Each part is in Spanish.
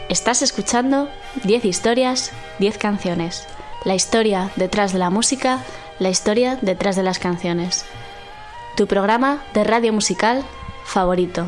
Estás escuchando 10 historias, 10 canciones. La historia detrás de la música, la historia detrás de las canciones. Tu programa de radio musical favorito.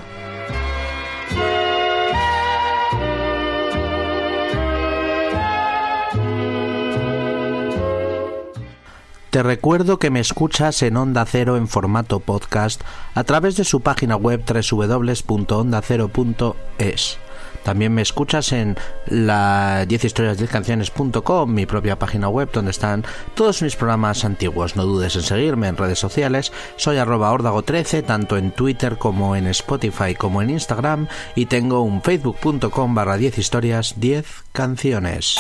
Te recuerdo que me escuchas en Onda Cero en formato podcast a través de su página web www.ondacero.es. También me escuchas en la 10historias10canciones.com, mi propia página web donde están todos mis programas antiguos. No dudes en seguirme en redes sociales. Soy @ordago13, tanto en Twitter como en Spotify como en Instagram, y tengo un facebook.com/10historias10canciones.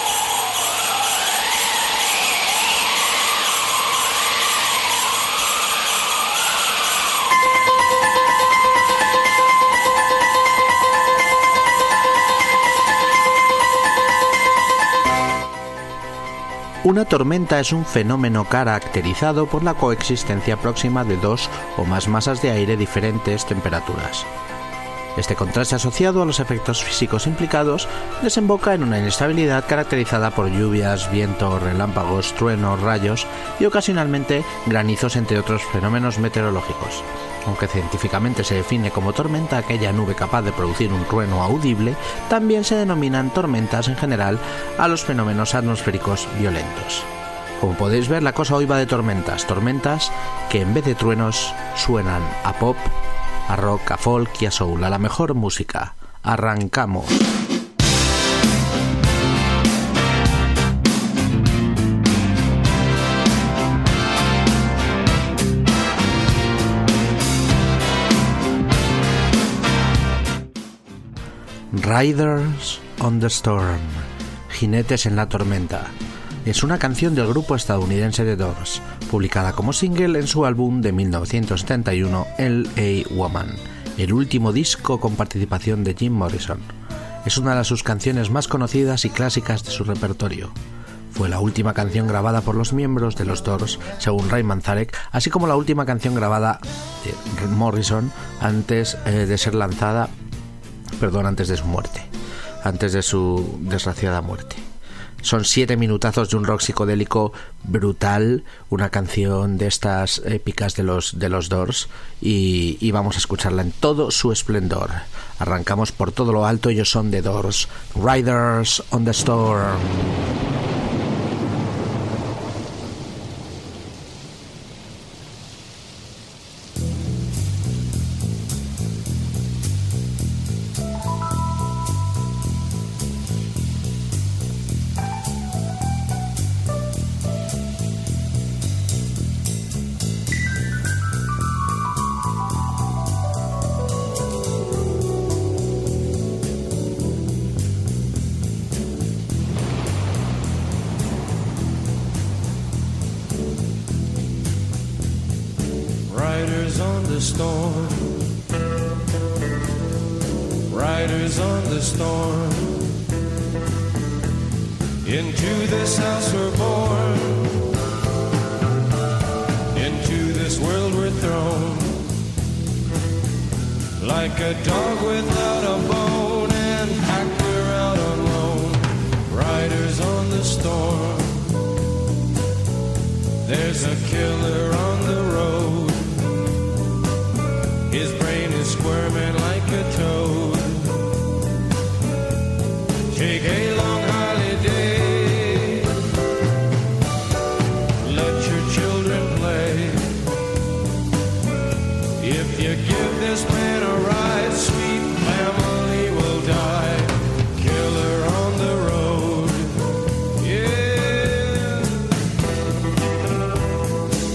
Una tormenta es un fenómeno caracterizado por la coexistencia próxima de dos o más masas de aire de diferentes temperaturas. Este contraste asociado a los efectos físicos implicados desemboca en una inestabilidad caracterizada por lluvias, vientos, relámpagos, truenos, rayos y ocasionalmente granizos, entre otros fenómenos meteorológicos. Aunque científicamente se define como tormenta aquella nube capaz de producir un trueno audible, también se denominan tormentas en general a los fenómenos atmosféricos violentos. Como podéis ver, la cosa hoy va de tormentas que en vez de truenos suenan a pop, a rock, a folk y a soul, a la mejor música. ¡Arrancamos! Riders on the Storm, Jinetes en la Tormenta, es una canción del grupo estadounidense The Doors, publicada como single en su álbum de 1971, L.A. Woman, el último disco con participación de Jim Morrison. Es una de sus canciones más conocidas y clásicas de su repertorio. Fue la última canción grabada por los miembros de los Doors, según Ray Manzarek, así como la última canción grabada de Morrison antes de ser lanzada, antes de su muerte, antes de su desgraciada muerte. Son 7 minutazos de un rock psicodélico brutal, una canción de estas épicas de los Doors, y vamos a escucharla en todo su esplendor. Arrancamos por todo lo alto. Ellos son The Doors, Riders on the Storm. Riders on the storm, riders on the storm. Into this house we're born, into this world we're thrown. Like a dog without a bone, and packed we're out alone. Riders on the storm, there's a killer on the road. His brain is squirming like a toad. Take a long holiday, let your children play. If you give this man a ride, sweet family will die. Killer on the road, yeah.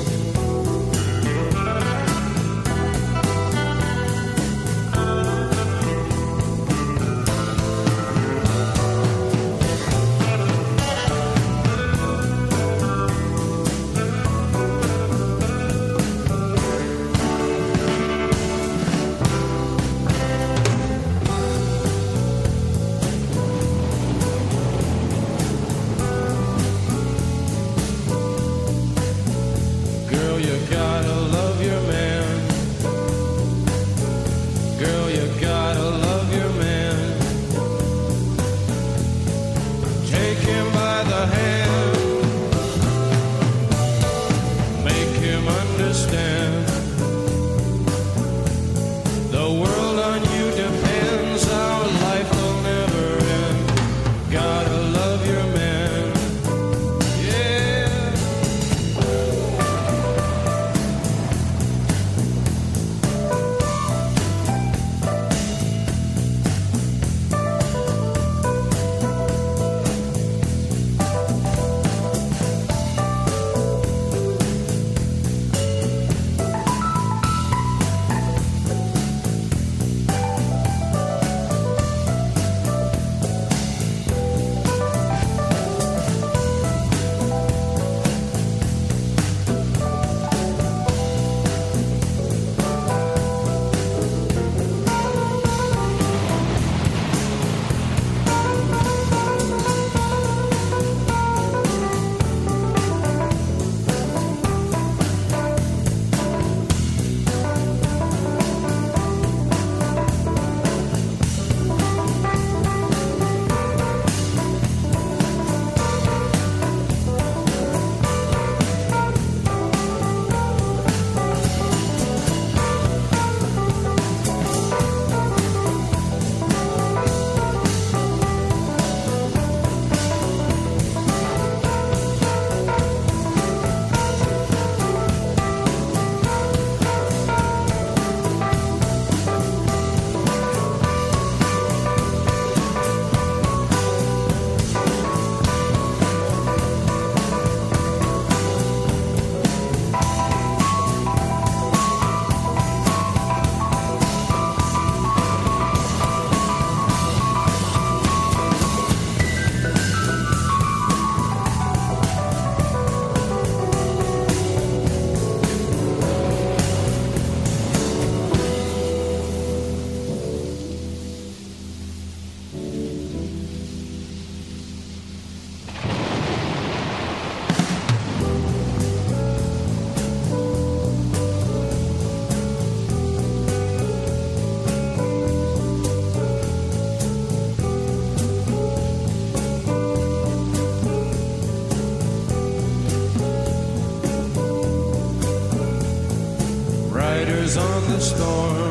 Riders on the storm.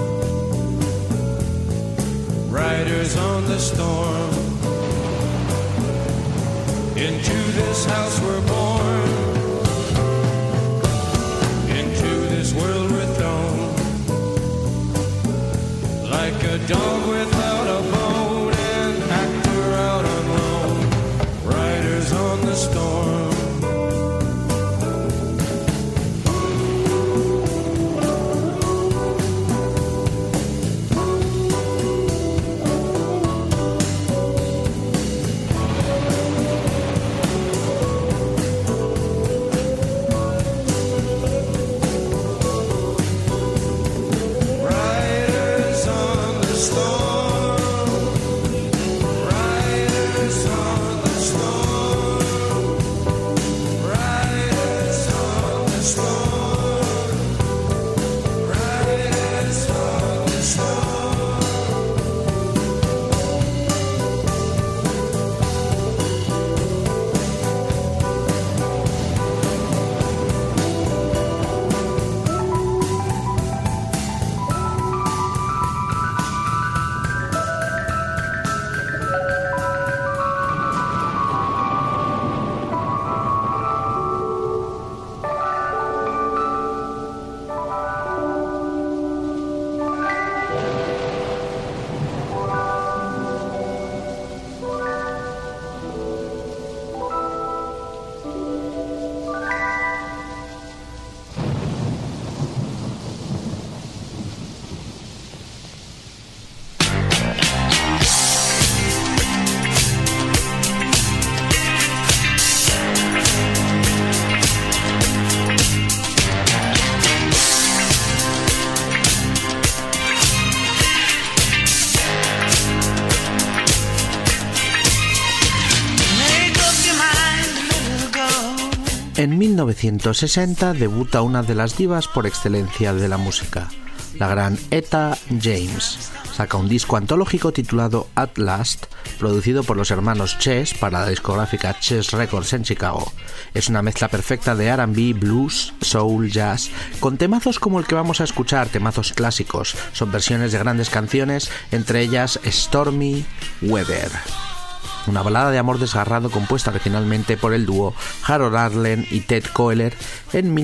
Riders on the storm. Into this house we're born. Into this world we're thrown. Like a dog without a bone, an actor out on loan. Riders on the storm. En 1960 debuta una de las divas por excelencia de la música, la gran Etta James. Saca un disco antológico titulado At Last, producido por los hermanos Chess para la discográfica Chess Records en Chicago. Es una mezcla perfecta de R&B, blues, soul, jazz, con temazos como el que vamos a escuchar, temazos clásicos. Son versiones de grandes canciones, entre ellas Stormy Weather, una balada de amor desgarrado compuesta originalmente por el dúo Harold Arlen y Ted Koehler en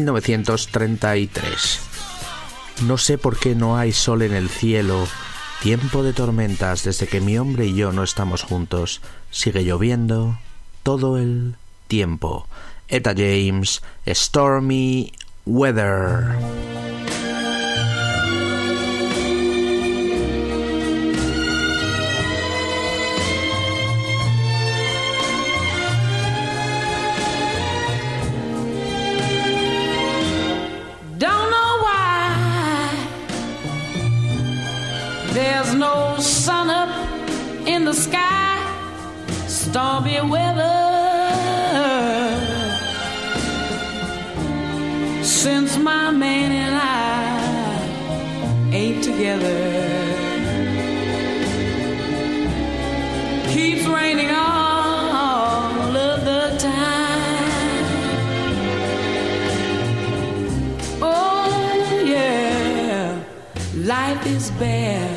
1933. No sé por qué no hay sol en el cielo, tiempo de tormentas desde que mi hombre y yo no estamos juntos, sigue lloviendo todo el tiempo. Etta James, Stormy Weather. There's no sun up in the sky, stormy weather. Since my man and I ain't together, keeps raining all of the time. Oh yeah, life is bare.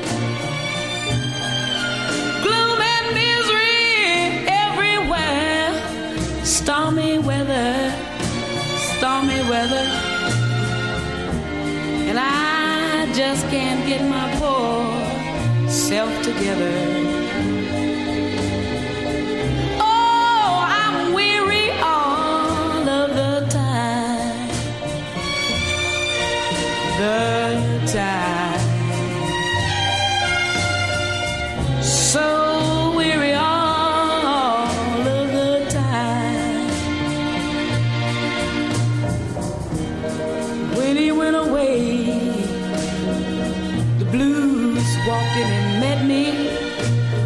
Stormy weather, stormy weather, and I just can't get my poor self together. Oh, I'm weary all of the time, so weary all of the time. When he went away, the blues walked in and met me.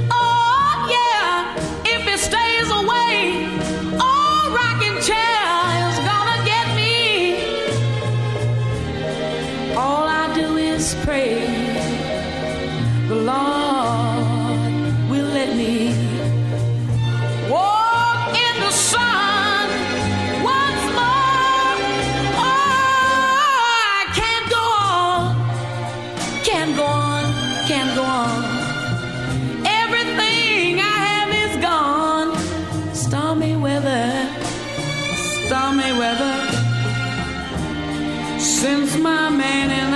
Since my man and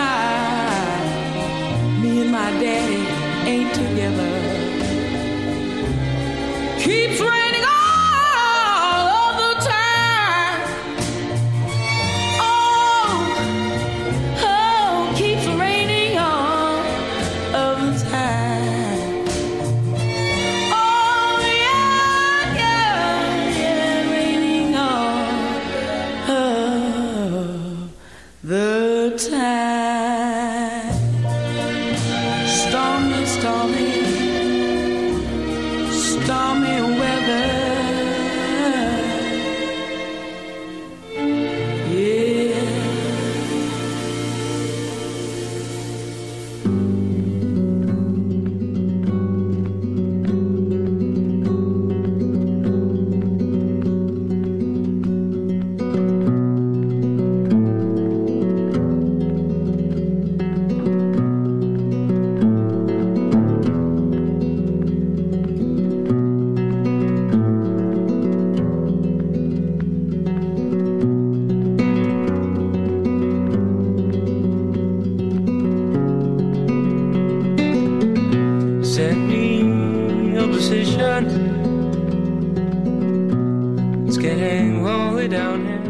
I, me and my daddy ain't together. Keeps raining all of the time. Oh, keeps raining all of the time. Oh, yeah, raining all of the time. Stormy, stormy, stormy weather. Yeah. Set me a position. It's getting lonely down here.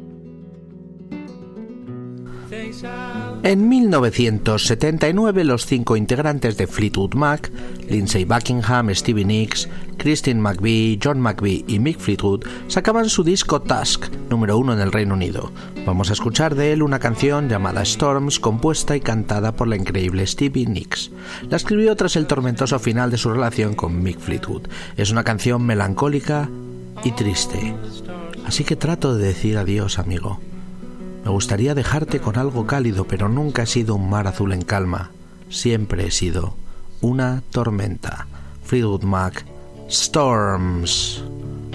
Thanks out. En 1979, los 5 integrantes de Fleetwood Mac, Lindsey Buckingham, Stevie Nicks, Christine McVie, John McVie y Mick Fleetwood, sacaban su disco Tusk, número 1 en el Reino Unido. Vamos a escuchar de él una canción llamada Storms, compuesta y cantada por la increíble Stevie Nicks. La escribió tras el tormentoso final de su relación con Mick Fleetwood. Es una canción melancólica y triste. Así que trato de decir adiós, amigo. Me gustaría dejarte con algo cálido, pero nunca he sido un mar azul en calma. Siempre he sido una tormenta. Fleetwood Mac, Storms.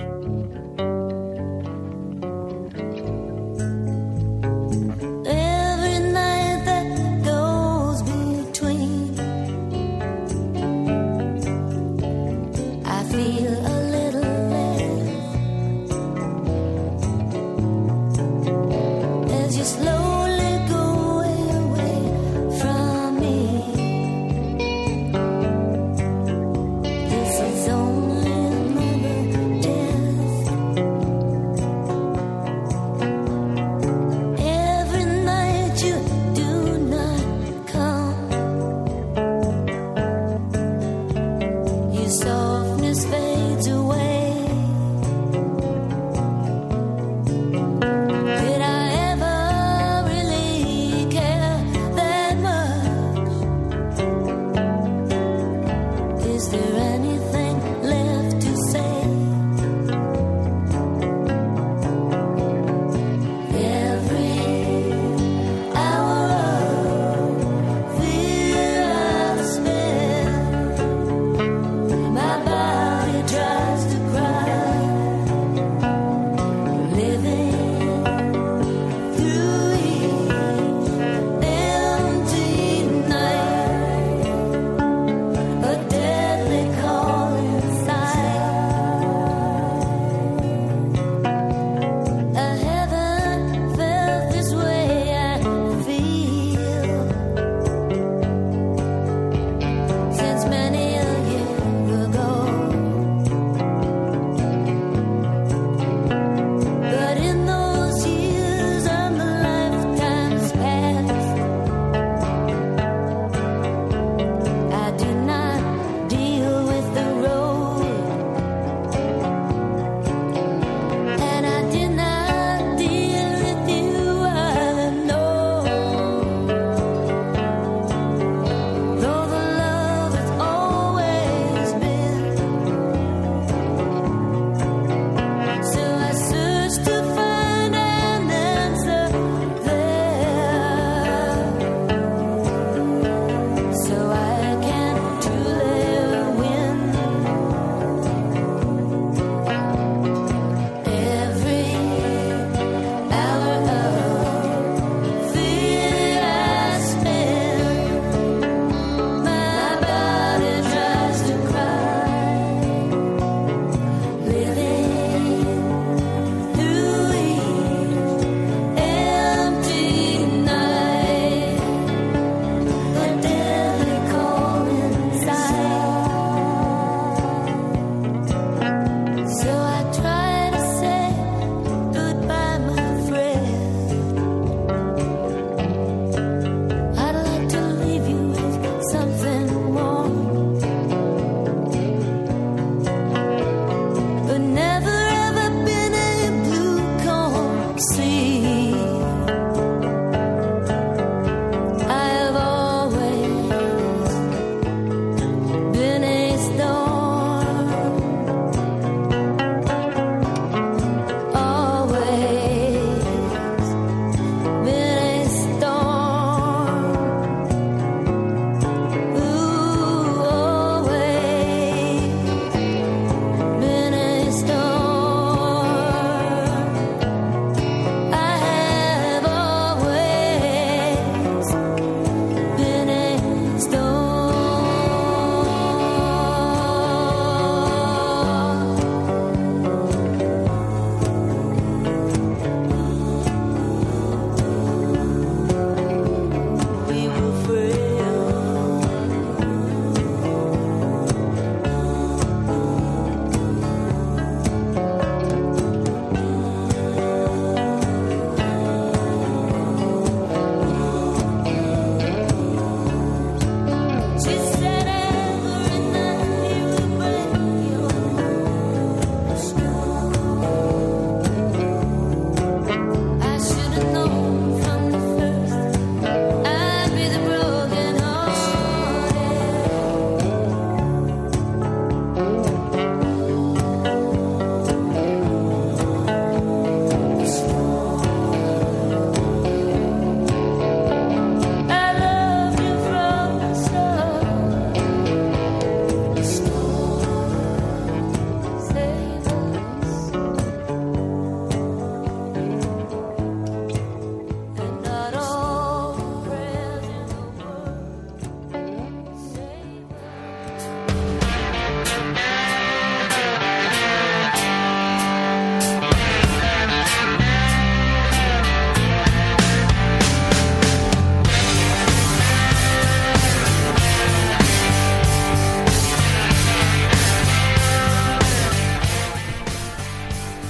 Every night that goes between, I feel a little less as you slowly go away from me. This is only another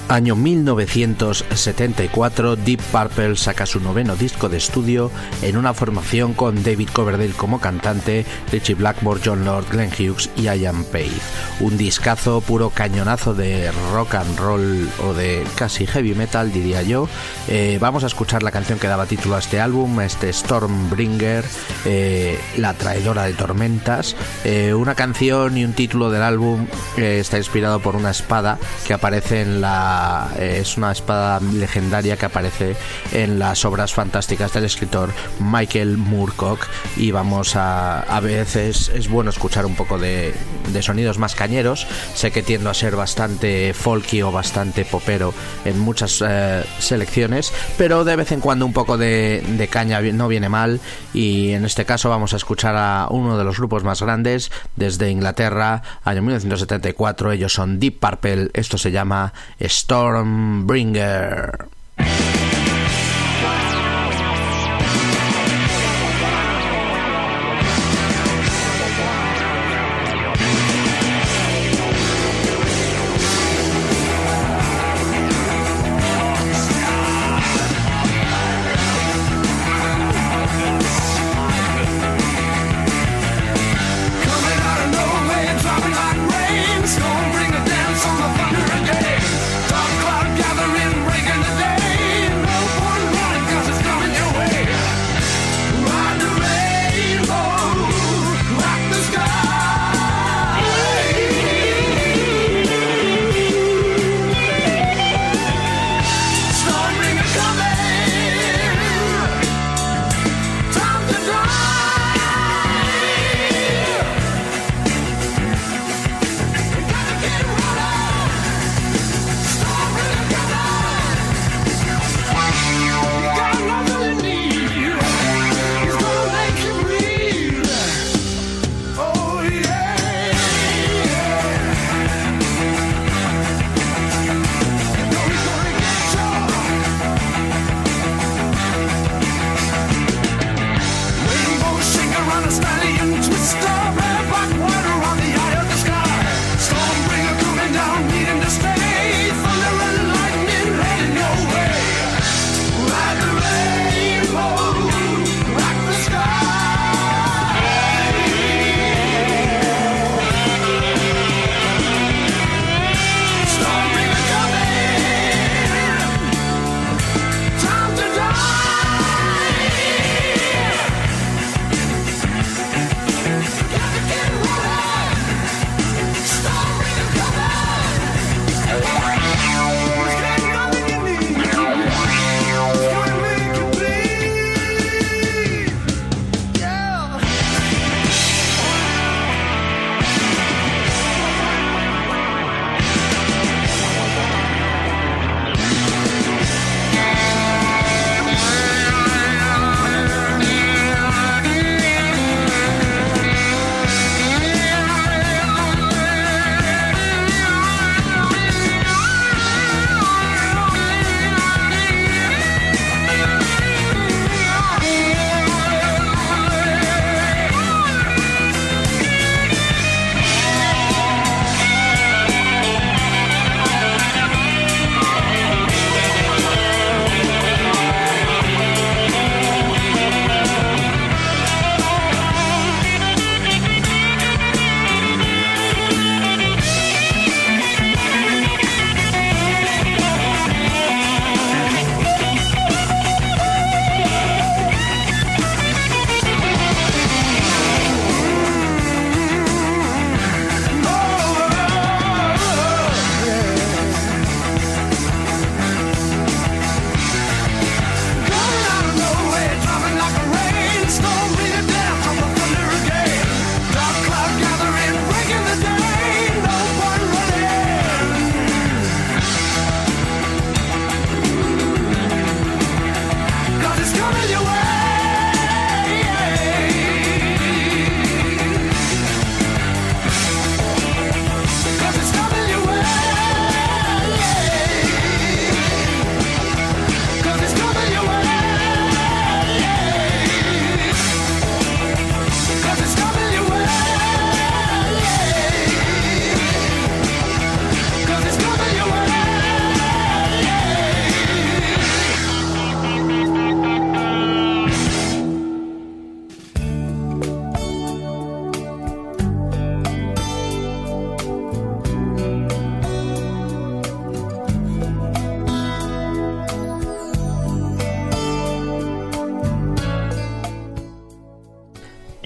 Año 1974, Deep Purple saca su noveno disco de estudio en una formación con David Coverdale como cantante, Ritchie Blackmore, John Lord, Glenn Hughes y Ian Page. Un discazo, puro cañonazo de rock and roll o de casi heavy metal, diría yo. Vamos a escuchar la canción que daba título a este álbum, Stormbringer, la traidora de tormentas. Una canción y un título del álbum está inspirado por una espada que aparece en es una espada legendaria que aparece en las obras fantásticas del escritor Michael Moorcock, y vamos a veces es bueno escuchar un poco de sonidos más cañeros. Sé que tiendo a ser bastante folky o bastante popero en muchas selecciones, pero de vez en cuando un poco de caña no viene mal, y en este caso vamos a escuchar a uno de los grupos más grandes desde Inglaterra, año 1974. Ellos son Deep Purple, esto se llama Stormbringer. Bring a dance on the thunder again. Dark cloud gathering, breaking the day.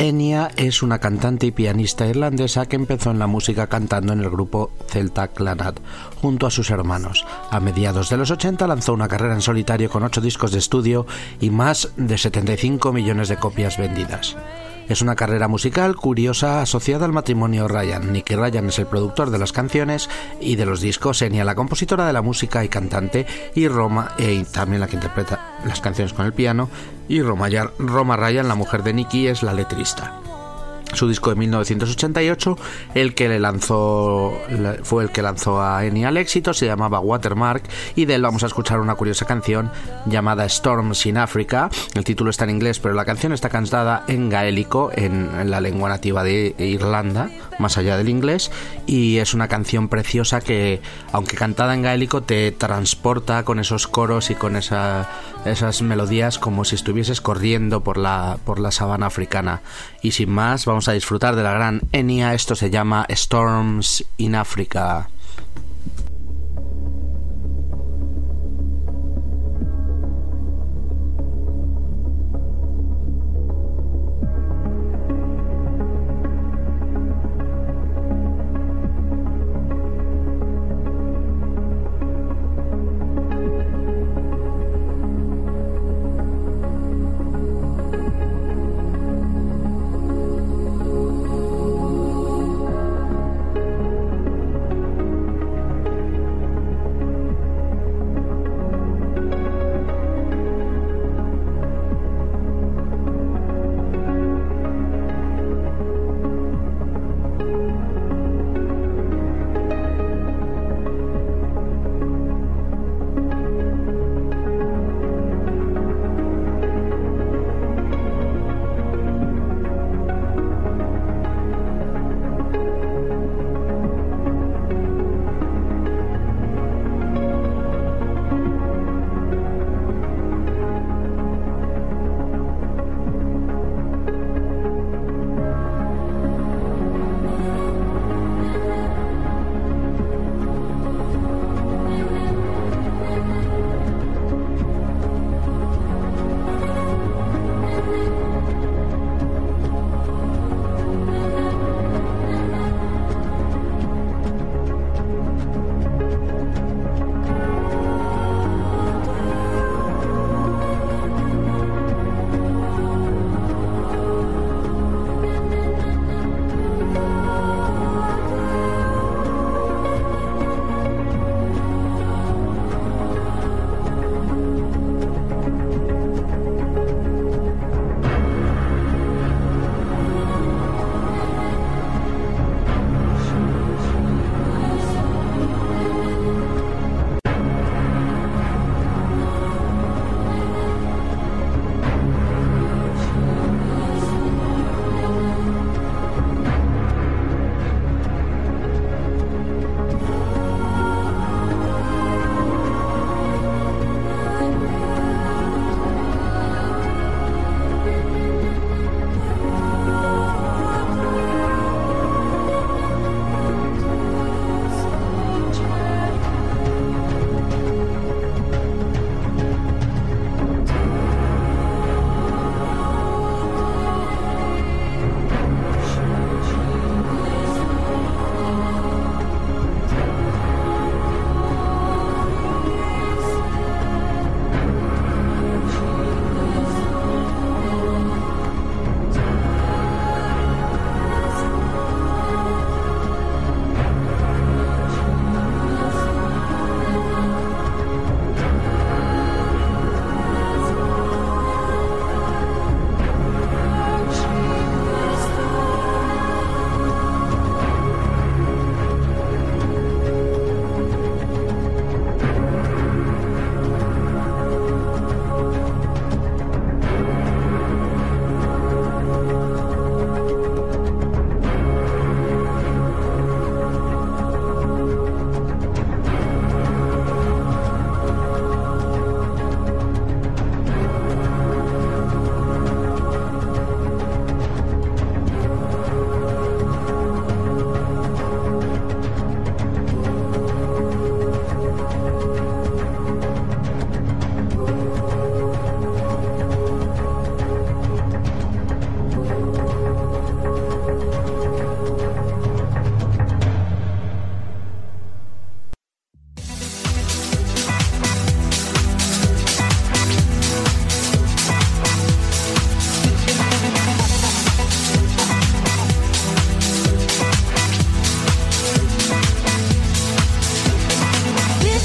Enya es una cantante y pianista irlandesa que empezó en la música cantando en el grupo Celta Clanad junto a sus hermanos. A mediados de los 80 lanzó una carrera en solitario con 8 discos de estudio y más de 75 millones de copias vendidas. Es una carrera musical curiosa asociada al matrimonio Ryan. Nicky Ryan es el productor de las canciones y de los discos, Enya la compositora de la música y cantante, y también la que interpreta las canciones con el piano, y Roma Ryan, la mujer de Nicky, es la letrista. Su disco de 1988, fue el que lanzó a Enya al éxito, se llamaba Watermark, y de él vamos a escuchar una curiosa canción llamada Storms in Africa. El título está en inglés, pero la canción está cantada en gaélico, en la lengua nativa de Irlanda, más allá del inglés, y es una canción preciosa que, aunque cantada en gaélico, te transporta con esos coros y con esas melodías como si estuvieses corriendo por la sabana africana. Y sin más, vamos a disfrutar de la gran Enya. Esto se llama Storms in Africa.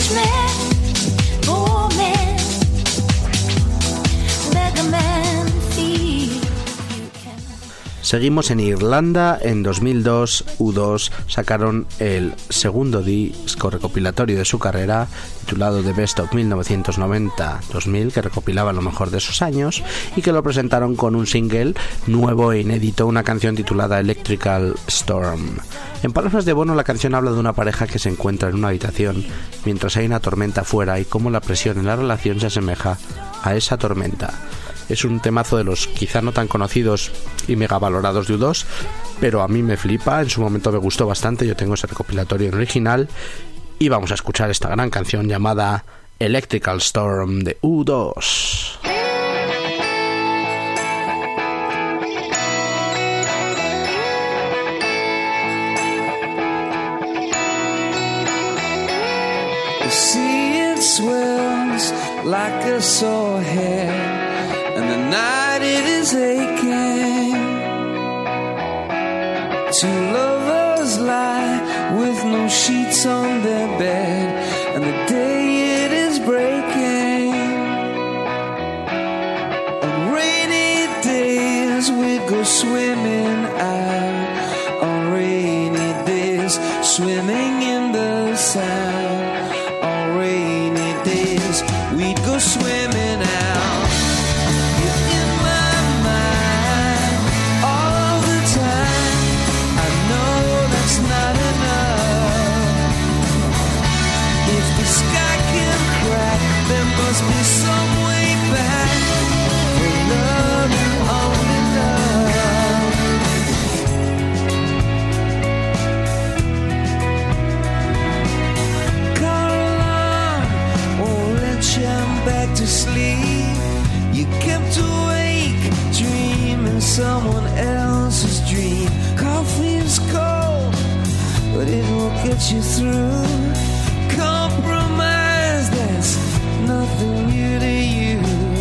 Seguimos en Irlanda. En 2002, U2 sacaron el segundo disco recopilatorio de su carrera, titulado The Best of 1990-2000, que recopilaba lo mejor de esos años, y que lo presentaron con un single nuevo e inédito, una canción titulada Electrical Storm. En palabras de Bono, la canción habla de una pareja que se encuentra en una habitación mientras hay una tormenta afuera y cómo la presión en la relación se asemeja a esa tormenta. Es un temazo de los quizá no tan conocidos y mega valorados de U2, pero a mí me flipa, en su momento me gustó bastante, yo tengo ese recopilatorio en original, y vamos a escuchar esta gran canción llamada Electrical Storm de U2. The sea it swells like a sore head, and the night it is aching. Two lovers lie with no sheets on their bed, and the day it is breaking. On rainy days we go swimming out, on rainy days swimming in the sand. On rainy days we'd go swimming out. Must be some way back for love and only love. Caroline won't let you back to sleep. You kept awake dreaming someone else's dream. Coffee's cold, but it will get you through. Compromise, that's nothing new to you.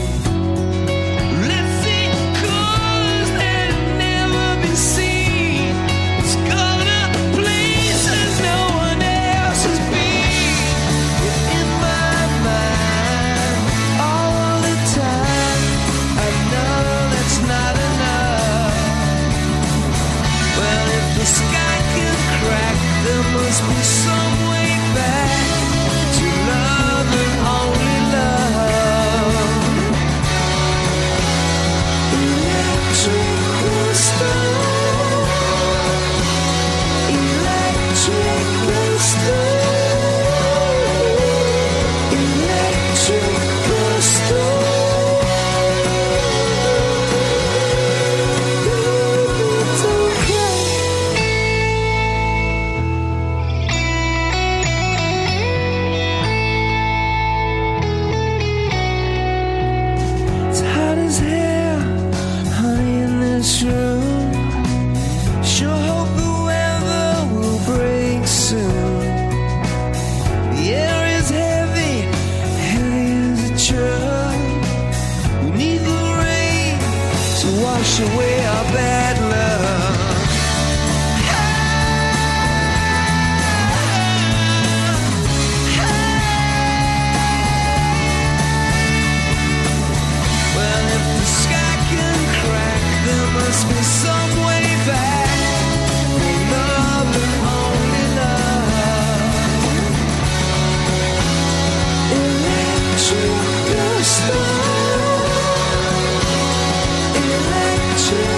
Let's see colors that never been seen. Let's go to places no one else has been. You're in my mind all the time. I know that's not enough. Well, if the sky can crack, there must be some way back to love and only love. Electrical storm, electrical storm, electrical storm. It's hot as hell, honey, in this room. Sure hope the weather will break soon. The air is heavy, heavy as a truck. We need the rain to wash away our bad luck. Well, if the sky can crack, there must be some way back for love and only love. Electrical storm, electrical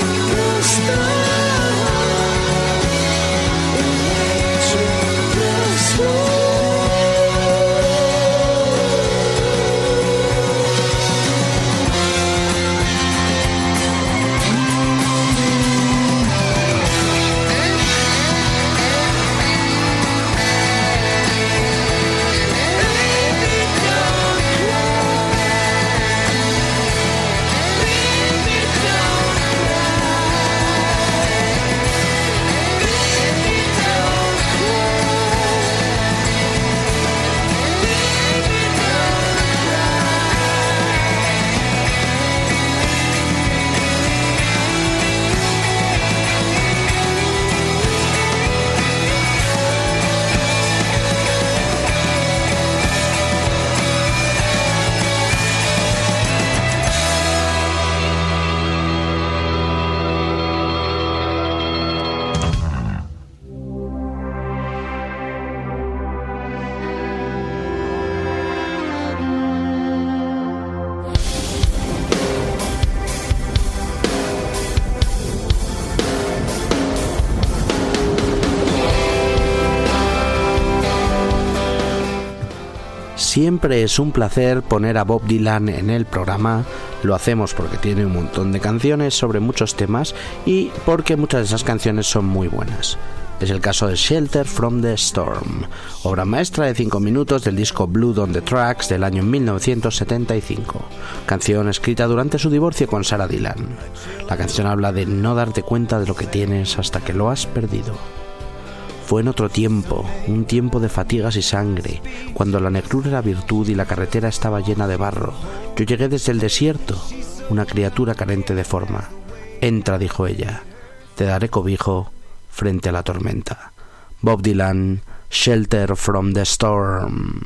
Siempre es un placer poner a Bob Dylan en el programa. Lo hacemos porque tiene un montón de canciones sobre muchos temas y porque muchas de esas canciones son muy buenas. Es el caso de Shelter from the Storm, obra maestra de 5 minutos del disco Blood on the Tracks del año 1975, canción escrita durante su divorcio con Sarah Dylan. La canción habla de no darte cuenta de lo que tienes hasta que lo has perdido. Fue en otro tiempo, un tiempo de fatigas y sangre, cuando la negrura era virtud y la carretera estaba llena de barro. Yo llegué desde el desierto, una criatura carente de forma. Entra, dijo ella, te daré cobijo frente a la tormenta. Bob Dylan, Shelter from the Storm.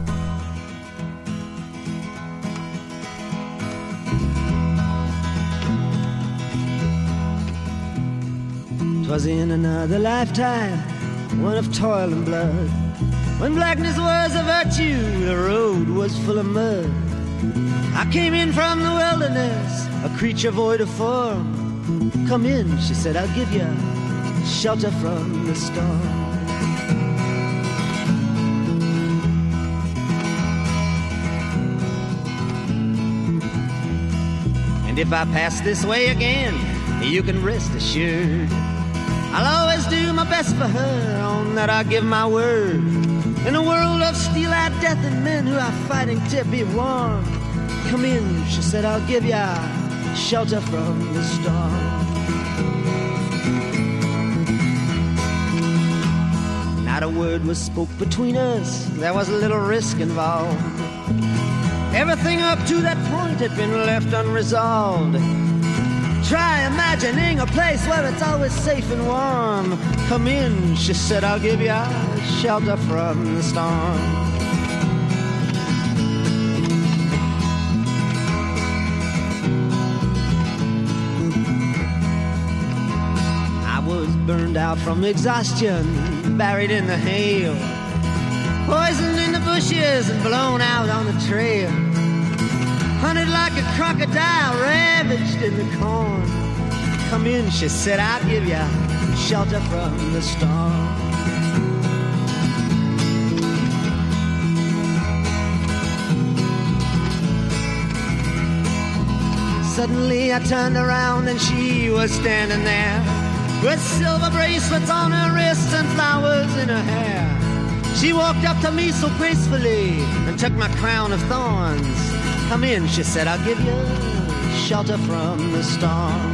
'Twas in another lifetime, one of toil and blood, when blackness was a virtue, the road was full of mud. I came in from the wilderness, a creature void of form. Come in, she said, I'll give you shelter from the storm. And if I pass this way again, you can rest assured I'll always do my best for her, on that I give my word. In a world of steel-eyed death and men who are fighting to be warm, come in, she said, I'll give ya shelter from the storm. Not a word was spoke between us, there was a little risk involved. Everything up to that point had been left unresolved. Try imagining a place where it's always safe and warm. Come in, she said, I'll give you shelter from the storm. I was burned out from exhaustion, buried in the hail, poisoned in the bushes and blown out on the trail. Hunted like a crocodile, ravaged in the corn. Come in, she said, I'll give you shelter from the storm. Suddenly I turned around and she was standing there, with silver bracelets on her wrists and flowers in her hair. She walked up to me so gracefully and took my crown of thorns. Come in, she said, I'll give you shelter from the storm.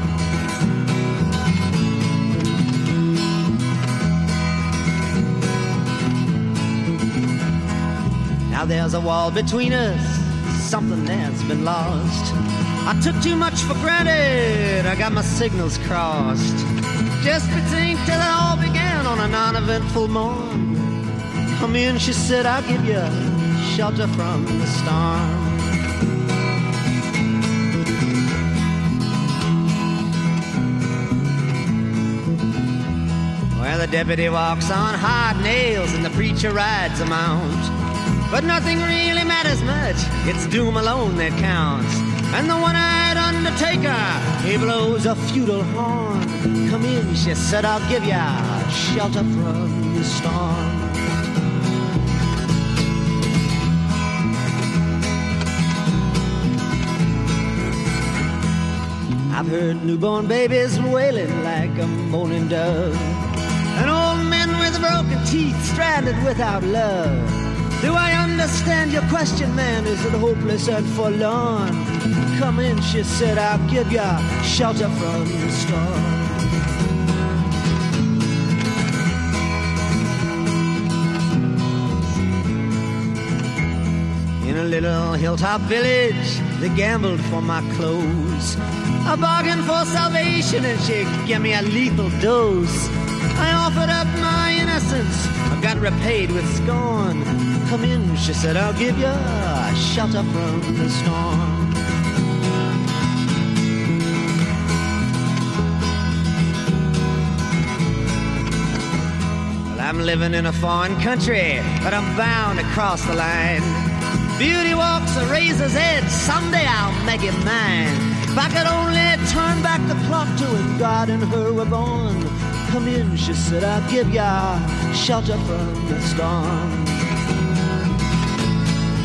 Now there's a wall between us, something that's been lost. I took too much for granted, I got my signals crossed. Just think till it all began on a non-eventful morn. Come in, she said, I'll give you shelter from the storm. Well, the deputy walks on hard nails and the preacher rides a mount. But nothing really matters much, it's doom alone that counts. And the one-eyed undertaker, he blows a feudal horn. Come in, she said, I'll give ya shelter from the storm. I've heard newborn babies wailing like a moaning dove, and old men with broken teeth stranded without love. Do I understand your question, man? Is it hopeless and forlorn? Come in, she said, I'll give you shelter from the storm. In a little hilltop village, they gambled for my clothes. I bargained for salvation and she gave me a lethal dose. I offered up my innocence, I got repaid with scorn. Come in, she said, I'll give you shelter from the storm. Well, I'm living in a foreign country, but I'm bound to cross the line. Beauty walks a razor's edge, someday I'll make it mine. If I could only turn back the clock to when God and her were born. Come in, she said, I'll give ya shelter from the storm.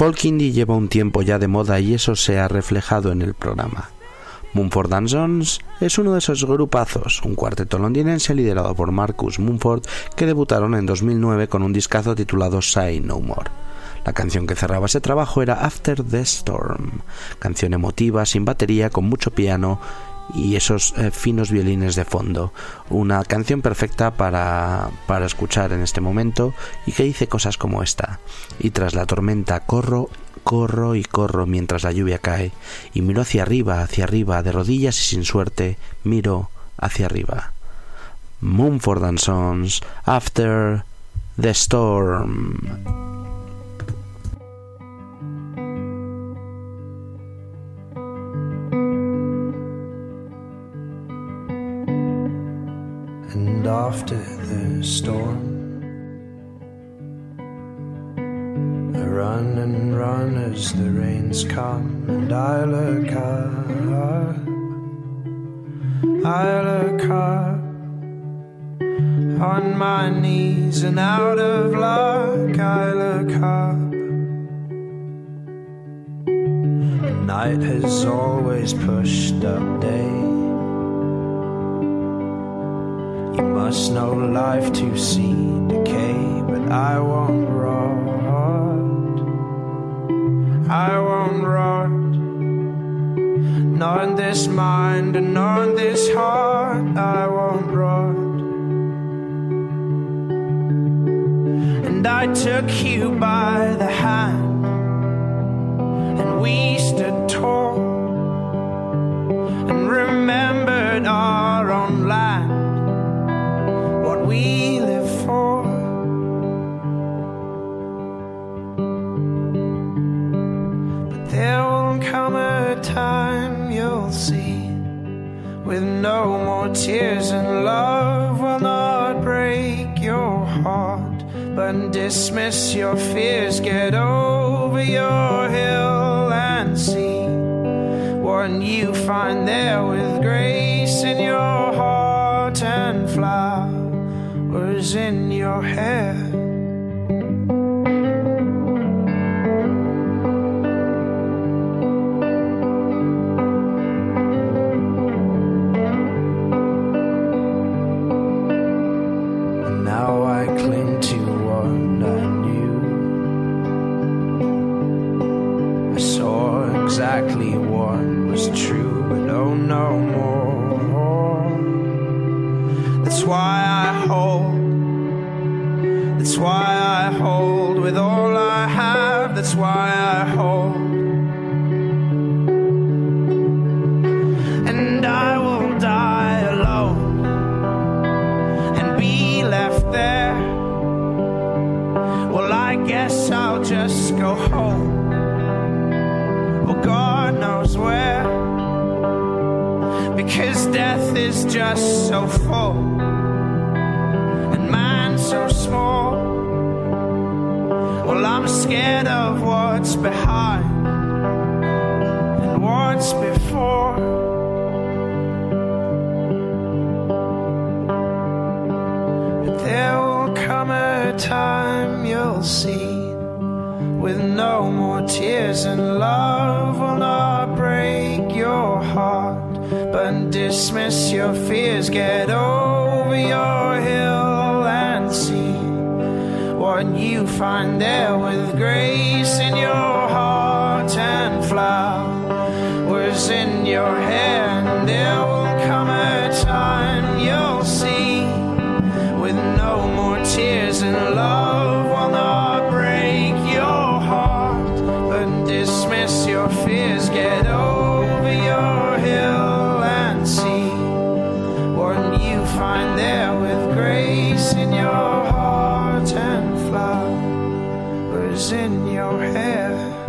folk indie lleva un tiempo ya de moda y eso se ha reflejado en el programa. Mumford & Sons es uno de esos grupazos, un cuarteto londinense liderado por Marcus Mumford, que debutaron en 2009 con un discazo titulado Say No More. La canción que cerraba ese trabajo era After the Storm, canción emotiva, sin batería, con mucho piano y esos finos violines de fondo. Una canción perfecta para escuchar en este momento y que dice cosas como esta: y tras la tormenta corro y corro mientras la lluvia cae, y miro hacia arriba, de rodillas y sin suerte, miro hacia arriba. Mumford & Sons, After the Storm. And after the storm, I run and run as the rains come, and I look up on my knees and out of luck. I look up. Night has always pushed up day. You must know life to see decay, but I won't rot. I won't rot. Not in this mind and not in this heart. I won't rot. And I took you by the hand, and we stood tall, and remembered our own land, what we live for. But there will come a time you'll see, with no more tears, and love will not break your heart, but dismiss your fears. Get over your hill and see what you find there, with grace in your heart and flowers in your hair. And now I cling to what I knew. I saw exactly what was true, but oh, no more. That's why I hold with all I have. That's why I hold. And I will die alone and be left there. Well, I guess I'll just go home. Well, God knows where, because death is just so full and man so small. Well, I'm scared of what's behind and what's before. But there will come a time you'll see, with no more tears, and love will not break your heart, but dismiss your fears. Get over your hill and see what you find there, with grace in your heart and flowers in your hair. And there will come a time you'll see, with no more tears, and love will not break your heart, but dismiss your fears. Get over your hill and see what you find there, with grace in your heart and flowers in your hair.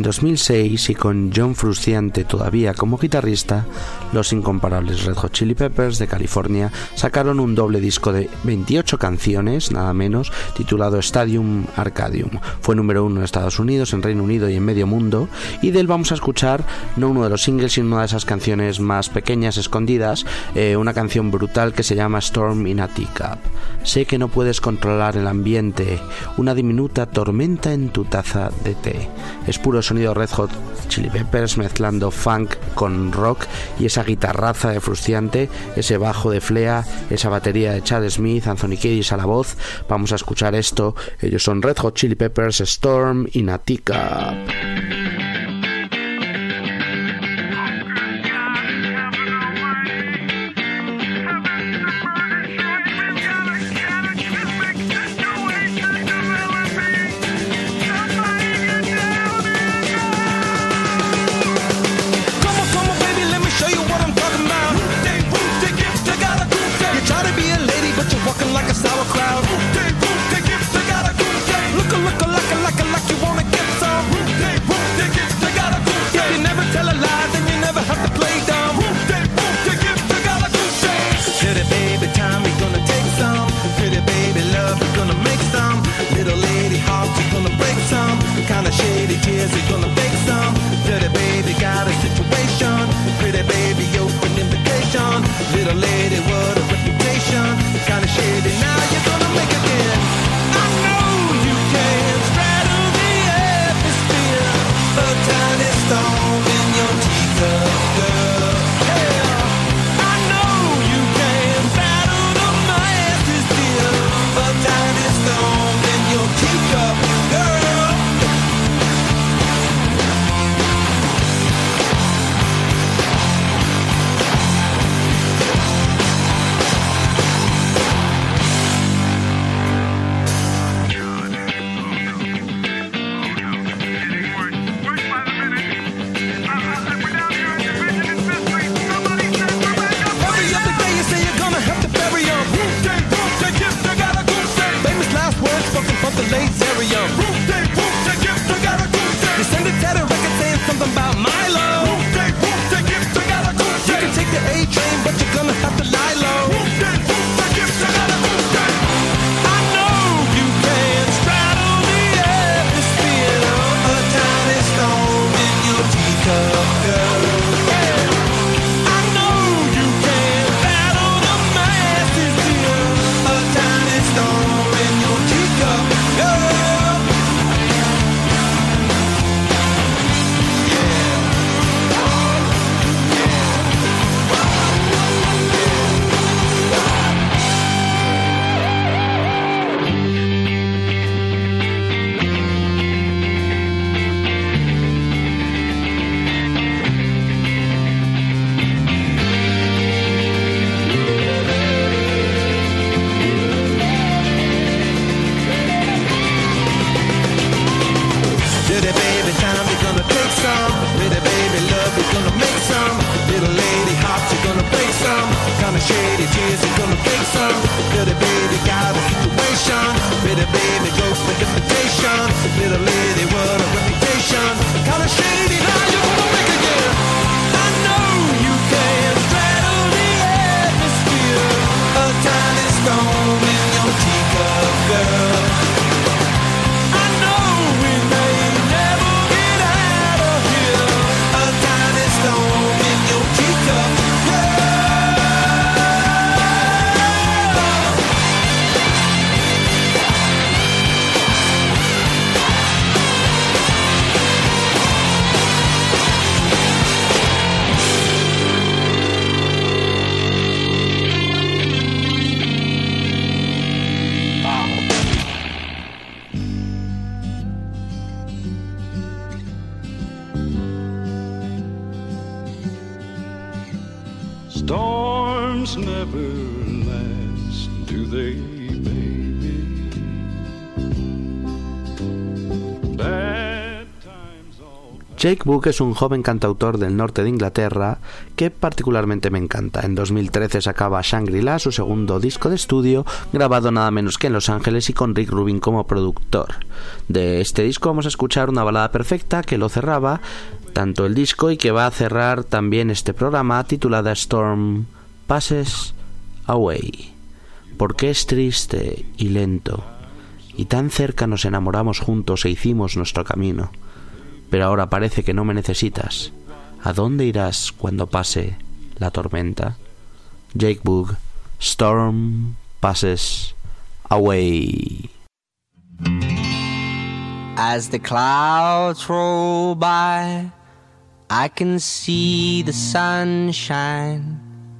2006 y con John Frusciante todavía como guitarrista, los incomparables Red Hot Chili Peppers de California sacaron un doble disco de 28 canciones, nada menos, titulado Stadium Arcadium. Fue número 1 en Estados Unidos, en Reino Unido y en medio mundo, y de él vamos a escuchar no uno de los singles, sino una de esas canciones más pequeñas, escondidas, una canción brutal que se llama Storm in a Teacup. Sé que no puedes controlar el ambiente, una diminuta tormenta en tu taza de té. Es puro sonido Red Hot Chili Peppers mezclando funk con rock y esa guitarraza de Frusciante, ese bajo de Flea, esa batería de Chad Smith, Anthony Kiedis a la voz. Vamos a escuchar esto. Ellos son Red Hot Chili Peppers, Storm in a Teacup. Storms never last, do they, baby? Bad times all. Jake Buck es un joven cantautor del norte de Inglaterra que particularmente me encanta. En 2013 sacaba Shangri-La, su segundo disco de estudio, grabado nada menos que en Los Ángeles y con Rick Rubin como productor. De este disco vamos a escuchar una balada perfecta que lo cerraba tanto el disco y que va a cerrar también este programa, titulada Storm Passes Away. Porque es triste y lento, y tan cerca nos enamoramos juntos e hicimos nuestro camino. Pero ahora parece que no me necesitas. ¿A dónde irás cuando pase la tormenta? Jake Bugg, Storm Passes Away. As the clouds roll by, I can see the sunshine.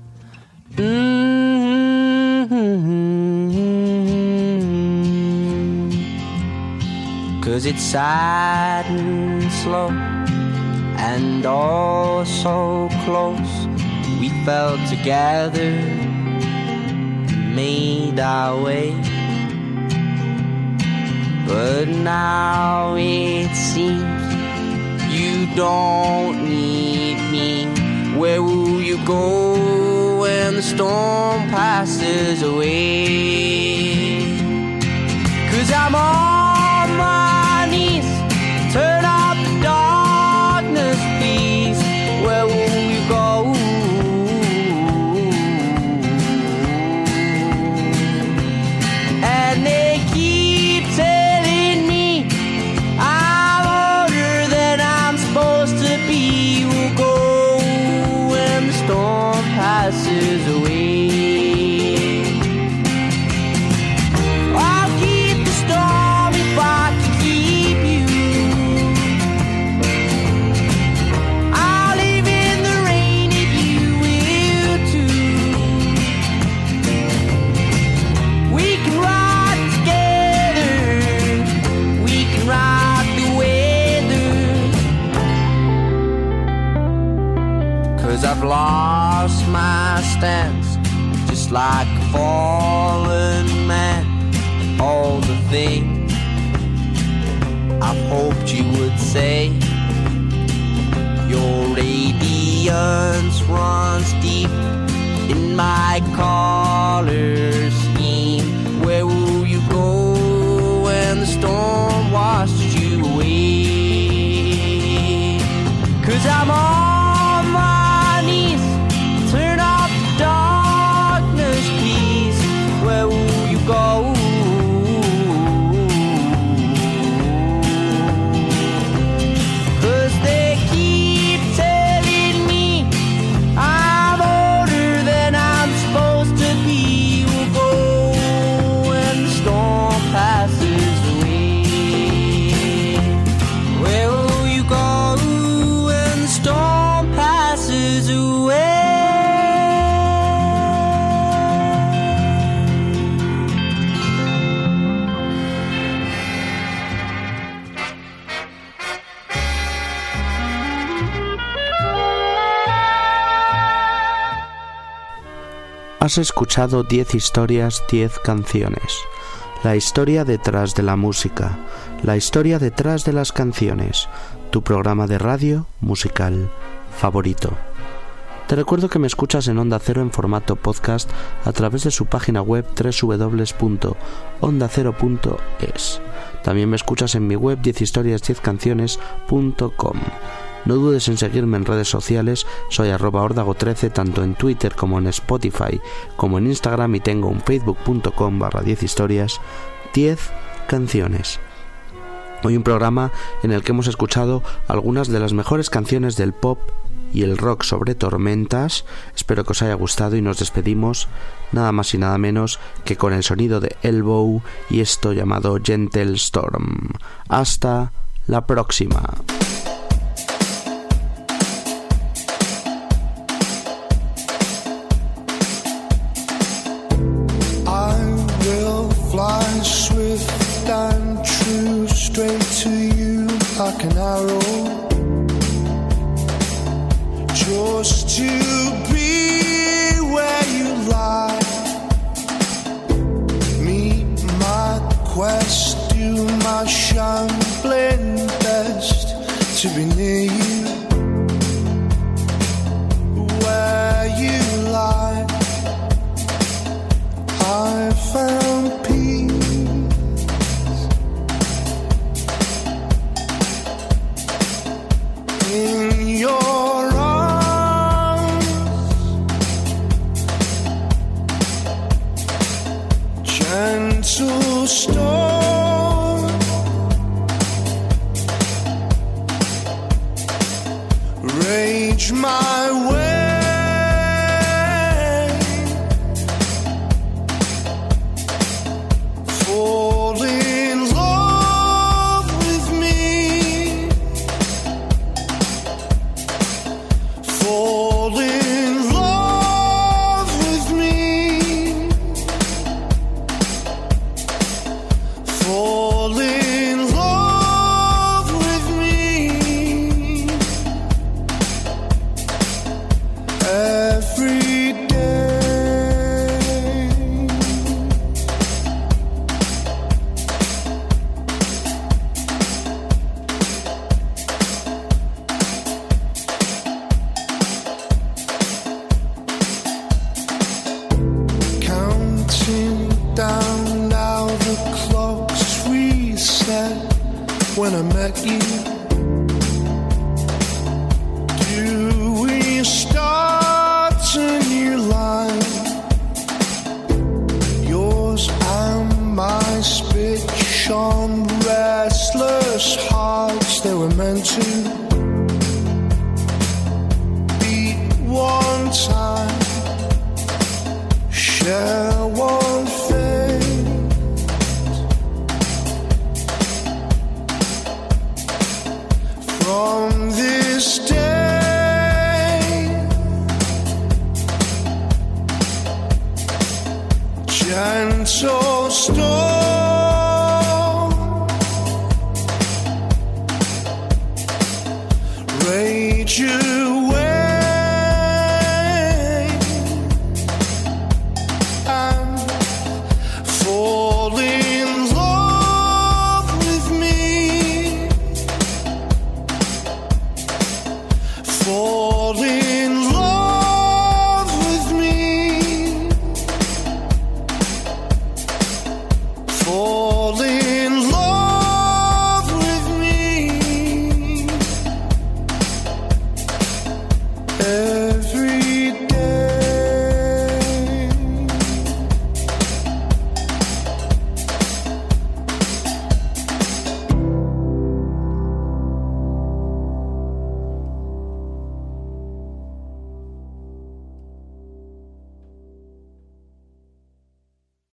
'Cause it's sad and slow and all so close. We fell together, made our way. But now it seems you don't need me. Where will you go when the storm passes away? 'Cause I'm on my knees, turn off the darkness, please. Where will you go? And they keep telling me I'm older than I'm supposed to be. We'll go when the storm passes away. I'll keep the storm if I can keep you. I'll live in the rain if you will too. We can rock together, we can rock the weather. 'Cause I've lost my stance, just like a fallen man. All the things I've hoped you would say. Your radiance runs deep in my color scheme. Where will you go when the storm washes you away? 'Cause I'm on my knees, turn off the darkness, please. Where will you go? 'Cause they keep telling me I'm older than I'm supposed to be. We'll go when the storm passes away. Where will you go when the storm passes away? Has escuchado 10 historias, 10 canciones. La historia detrás de la música, la historia detrás de las canciones. Tu programa de radio musical favorito. Te recuerdo que me escuchas en Onda Cero en formato podcast a través de su página web www.ondacero.es. También me escuchas en mi web 10historias10canciones.com. No dudes en seguirme en redes sociales, soy @ordago13 tanto en Twitter como en Spotify, como en Instagram, y tengo un facebook.com/10historias, 10 canciones. Hoy un programa en el que hemos escuchado algunas de las mejores canciones del pop y el rock sobre tormentas. Espero que os haya gustado y nos despedimos nada más y nada menos que con el sonido de Elbow y esto llamado Gentle Storm. Hasta la próxima. Fly swift and true, straight to you like an arrow. Just to be where you lie. Meet my quest, do my shambling best to be near you. when I met you. Do we start a new line? Yours and my speech on restless hearts, they were meant to beat one time, share one fate. From this day, gentle storm, rage away, and fall in love with me. Fall